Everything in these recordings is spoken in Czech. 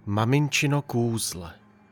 Maminčino kůzle.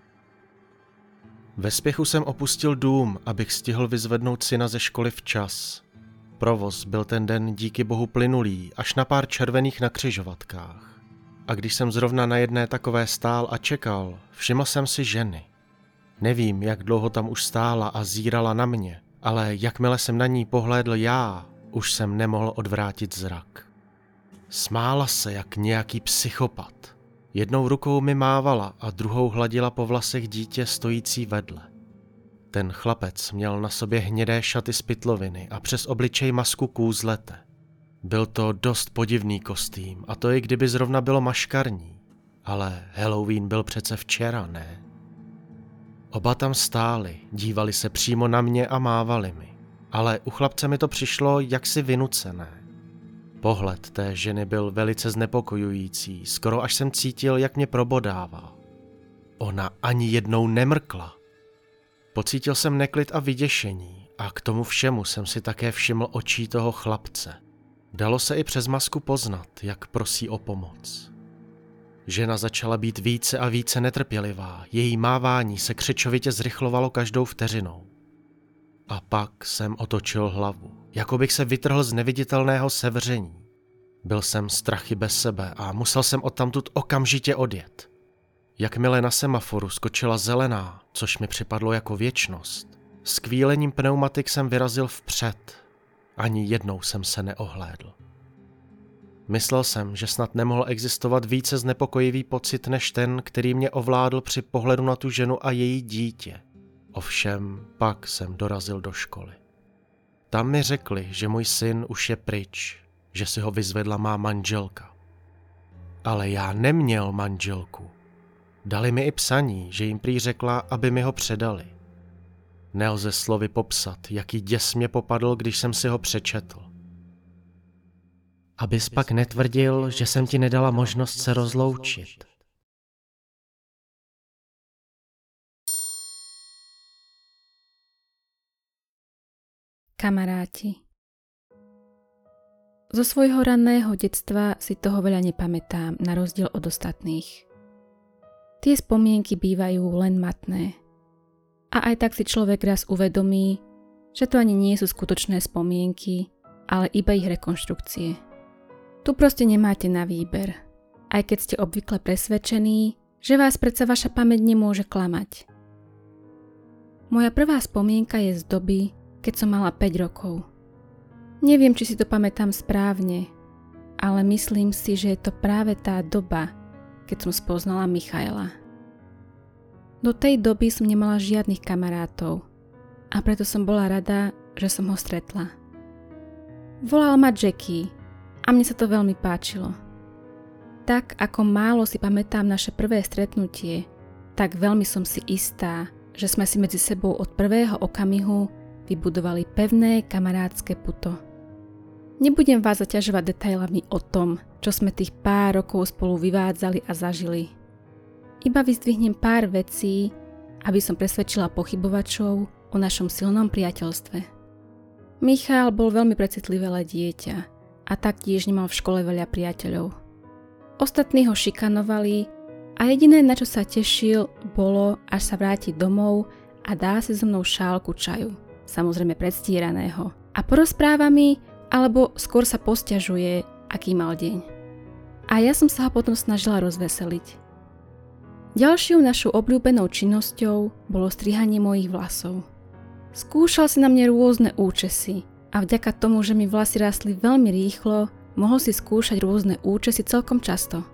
Ve spěchu jsem opustil dům, abych stihl vyzvednout syna ze školy včas. Provoz byl ten den díky bohu plynulý, až na pár červených na křižovatkách. A když jsem zrovna na jedné takové stál a čekal, všiml jsem si ženy. Nevím, jak dlouho tam už stála a zírala na mě, ale jakmile jsem na ní pohlédl já, už jsem nemohl odvrátit zrak. Smála se jak nějaký psychopat. Jednou rukou mi mávala a druhou hladila po vlasech dítě stojící vedle. Ten chlapec měl na sobě hnědé šaty z pytloviny a přes obličej masku kůzlete. Byl to dost podivný kostým, a to i kdyby zrovna bylo maškarní. Ale Halloween byl přece včera, ne? Oba tam stáli, dívali se přímo na mě a mávali mi. Ale u chlapce mi to přišlo jaksi vynucené. Pohled té ženy byl velice znepokojující, skoro až jsem cítil, jak mě probodává. Ona ani jednou nemrkla. Pocítil jsem neklid a vyděšení a k tomu všemu jsem si také všiml očí toho chlapce. Dalo se i přes masku poznat, jak prosí o pomoc. Žena začala být více a více netrpělivá, její mávání se křečovitě zrychlovalo každou vteřinou. A pak jsem otočil hlavu, jako bych se vytrhl z neviditelného sevření. Byl jsem strachy bez sebe a musel jsem odtamtud okamžitě odjet. Jakmile na semaforu skočila zelená, což mi připadlo jako věčnost, s kvílením pneumatik jsem vyrazil vpřed. Ani jednou jsem se neohlédl. Myslel jsem, že snad nemohl existovat více znepokojivý pocit než ten, který mě ovládl při pohledu na tu ženu a její dítě. Ovšem, pak jsem dorazil do školy. Tam mi řekli, že můj syn už je pryč, že si ho vyzvedla má manželka. Ale já neměl manželku. Dali mi i psaní, že jim prý řekla, aby mi ho předali. Nelze slovy popsat, jaký děs mě popadl, když jsem si ho přečetl. Abys pak netvrdil, že jsem ti nedala možnost se rozloučit. Kamaráti. Zo svojho ranného detstva si toho veľa nepamätám, na rozdiel od ostatných. Tie spomienky bývajú len matné. A aj tak si človek raz uvedomí, že to ani nie sú skutočné spomienky, ale iba ich rekonštrukcie. Tu proste nemáte na výber, aj keď ste obvykle presvedčení, že vás predsa vaša pamäť nemôže klamať. Moja prvá spomienka je z doby, keď som mala 5 rokov. Neviem, či si to pamätám správne, ale myslím si, že je to práve tá doba, keď som spoznala Michaela. Do tej doby som nemala žiadnych kamarátov a preto som bola rada, že som ho stretla. Volal ma Jackie a mne sa to veľmi páčilo. Tak ako málo si pamätám naše prvé stretnutie, tak veľmi som si istá, že sme si medzi sebou od prvého okamihu vybudovali pevné kamarátske puto. Nebudem vás zaťažovať detailami o tom, čo sme tých pár rokov spolu vyvádzali a zažili. Iba vyzdvihnem pár vecí, aby som presvedčila pochybovačov o našom silnom priateľstve. Michal bol veľmi precitlivé dieťa a taktiež nemal v škole veľa priateľov. Ostatní ho šikanovali a jediné, na čo sa tešil, bolo, až sa vráti domov a dá si so mnou šálku čaju, samozrejme predstieraného, a porozpráva mi, alebo skôr sa posťažuje, aký mal deň. A ja som sa ho potom snažila rozveseliť. Ďalšou našou obľúbenou činnosťou bolo strihanie mojich vlasov. Skúšal si na mne rôzne účesy a vďaka tomu, že mi vlasy rástli veľmi rýchlo, mohol si skúšať rôzne účesy celkom často.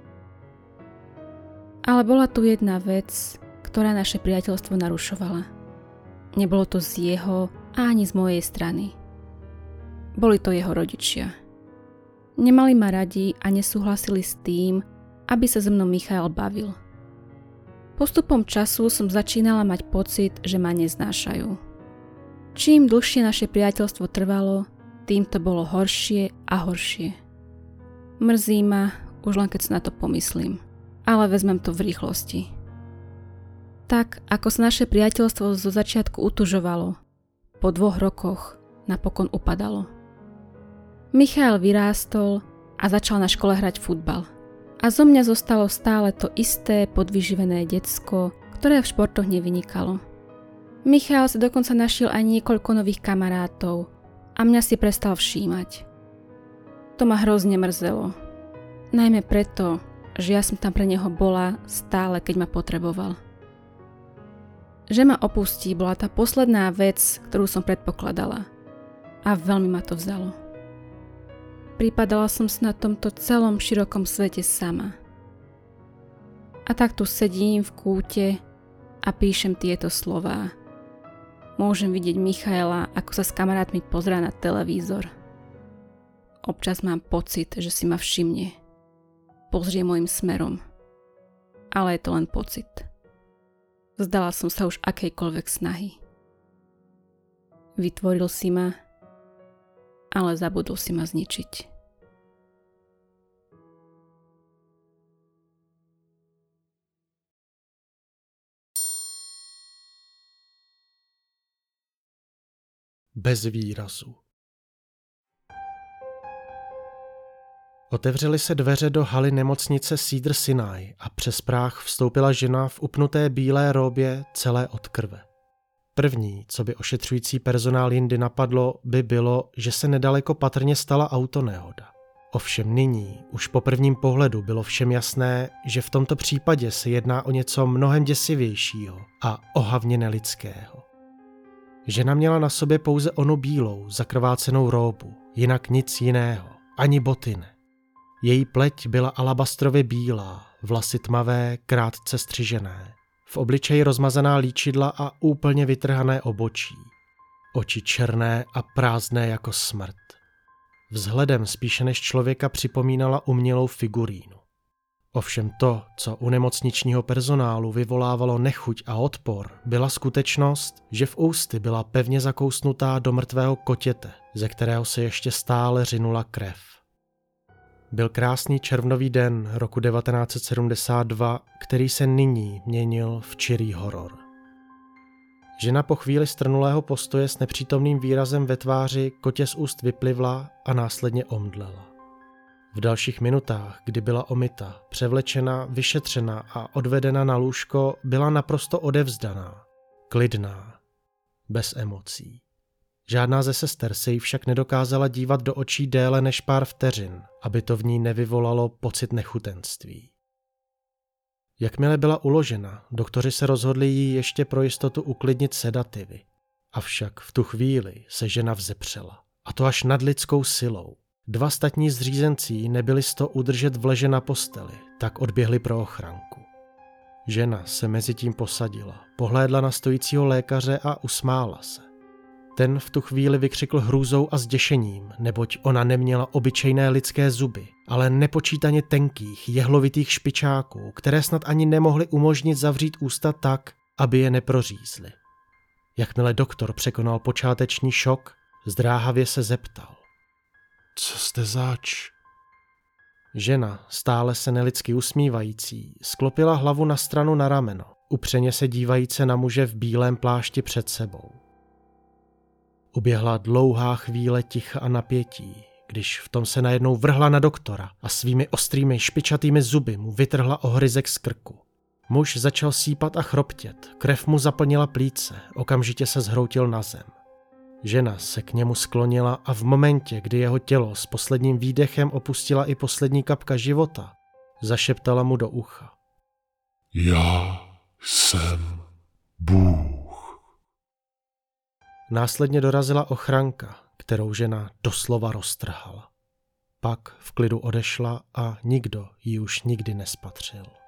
Ale bola tu jedna vec, ktorá naše priateľstvo narušovala. Nebolo to z jeho a ani z mojej strany. Boli to jeho rodičia. Nemali ma radi a nesúhlasili s tým, aby sa so mnou Michael bavil. Postupom času som začínala mať pocit, že ma neznášajú. Čím dlhšie naše priateľstvo trvalo, tým to bolo horšie a horšie. Mrzí ma, už len keď sa na to pomyslím, ale vezmem to v rýchlosti. Tak, ako sa naše priateľstvo zo začiatku utužovalo, po 2 rokoch napokon upadalo. Michael vyrástol a začal na škole hrať futbal. A zo mňa zostalo stále to isté podvyživené decko, ktoré v športoch nevynikalo. Michal si dokonca našiel aj niekoľko nových kamarátov a mňa si prestal všímať. To ma hrozne mrzelo. Najmä preto, že ja som tam pre neho bola stále, keď ma potreboval. Že ma opustí bola tá posledná vec, ktorú som predpokladala. A veľmi ma to vzalo. Pripadala som si na tomto celom širokom svete sama. A tak tu sedím v kúte a píšem tieto slová. Môžem vidieť Michaela, ako sa s kamarátmi pozerá na televízor. Občas mám pocit, že si ma všimne. Pozrie môjim smerom. Ale je to len pocit. Vzdala som sa už akejkoľvek snahy. Vytvoril si ma, ale zabudol si ma zničiť. Bez výrazu. Otevřely se dveře do haly nemocnice Cedar Sinai a přes práh vstoupila žena v upnuté bílé róbě celé od krve. První, co by ošetřující personál jindy napadlo, by bylo, že se nedaleko patrně stala autonehoda. Ovšem nyní, už po prvním pohledu bylo všem jasné, že v tomto případě se jedná o něco mnohem děsivějšího a ohavně nelidského. Žena měla na sobě pouze onu bílou, zakrvácenou róbu, jinak nic jiného, ani boty ne. Její pleť byla alabastrově bílá, vlasy tmavé, krátce střižené. V obličeji rozmazaná líčidla a úplně vytrhané obočí. Oči černé a prázdné jako smrt. Vzhledem spíše než člověka připomínala umělou figurínu. Ovšem to, co u nemocničního personálu vyvolávalo nechuť a odpor, byla skutečnost, že v ústy byla pevně zakousnutá do mrtvého kotěte, ze kterého se ještě stále řinula krev. Byl krásný červnový den roku 1972, který se nyní měnil v čirý horor. Žena po chvíli strnulého postoje s nepřítomným výrazem ve tváři kotě z úst vyplivla a následně omdlela. V dalších minutách, kdy byla omyta, převlečena, vyšetřena a odvedena na lůžko, byla naprosto odevzdaná, klidná, bez emocí. Žádná ze sester se jí však nedokázala dívat do očí déle než pár vteřin, aby to v ní nevyvolalo pocit nechutenství. Jakmile byla uložena, doktoři se rozhodli jí ještě pro jistotu uklidnit sedativy. Avšak v tu chvíli se žena vzepřela, a to až nadlidskou silou. Dva statní zřízencí nebyli s to udržet vleže na posteli, tak odběhli pro ochranku. Žena se mezi tím posadila, pohlédla na stojícího lékaře a usmála se. Ten v tu chvíli vykřikl hrůzou a zděšením, neboť ona neměla obyčejné lidské zuby, ale nepočítaně tenkých, jehlovitých špičáků, které snad ani nemohly umožnit zavřít ústa tak, aby je neprořízly. Jakmile doktor překonal počáteční šok, zdráhavě se zeptal. Co jste zač? Žena, stále se nelidsky usmívající, sklopila hlavu na stranu na rameno, upřeně se dívajíce na muže v bílém plášti před sebou. Uběhla dlouhá chvíle ticha a napětí, když v tom se najednou vrhla na doktora a svými ostrými špičatými zuby mu vytrhla ohryzek z krku. Muž začal sípat a chroptět, krev mu zaplnila plíce, okamžitě se zhroutil na zem. Žena se k němu sklonila a v momentě, kdy jeho tělo s posledním výdechem opustila i poslední kapka života, zašeptala mu do ucha. Já jsem Bůh. Následně dorazila ochranka, kterou žena doslova roztrhala. Pak v klidu odešla a nikdo ji už nikdy nespatřil.